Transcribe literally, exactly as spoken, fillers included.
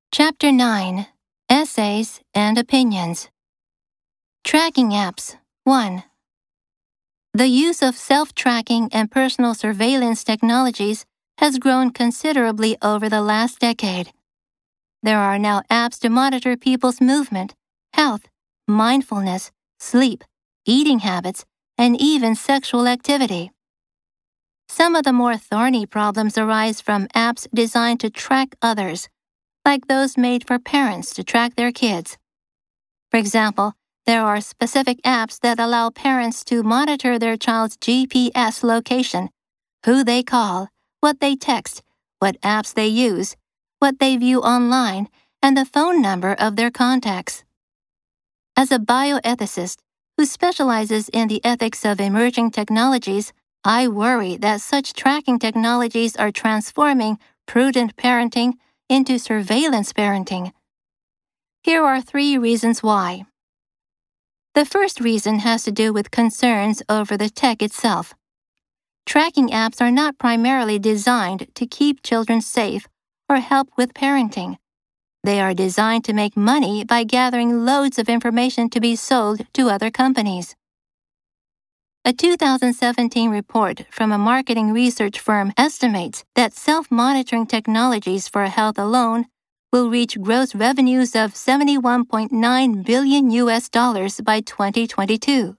Chapter nine. Essays and Opinions. Tracking Apps. one. The use of self-tracking and personal surveillance technologies has grown considerably over the last decade. There are now apps to monitor people's movement, health, mindfulness, sleep, eating habits, and even sexual activity. Some of the more thorny problems arise from apps designed to track others, like those made for parents to track their kids. For example, there are specific apps that allow parents to monitor their child's G P S location, who they call, what they text, what apps they use, what they view online, and the phone number of their contacts. As a bioethicist who specializes in the ethics of emerging technologies, I worry that such tracking technologies are transforming prudent parenting into surveillance parenting. Here are three reasons why. The first reason has to do with concerns over the tech itself. Tracking apps are not primarily designed to keep children safe or help with parenting. They are designed to make money by gathering loads of information to be sold to other companies. A two thousand seventeen report from a marketing research firm estimates that self-monitoring technologies for health alone will reach gross revenues of seventy-one point nine billion U S dollars by twenty twenty-two.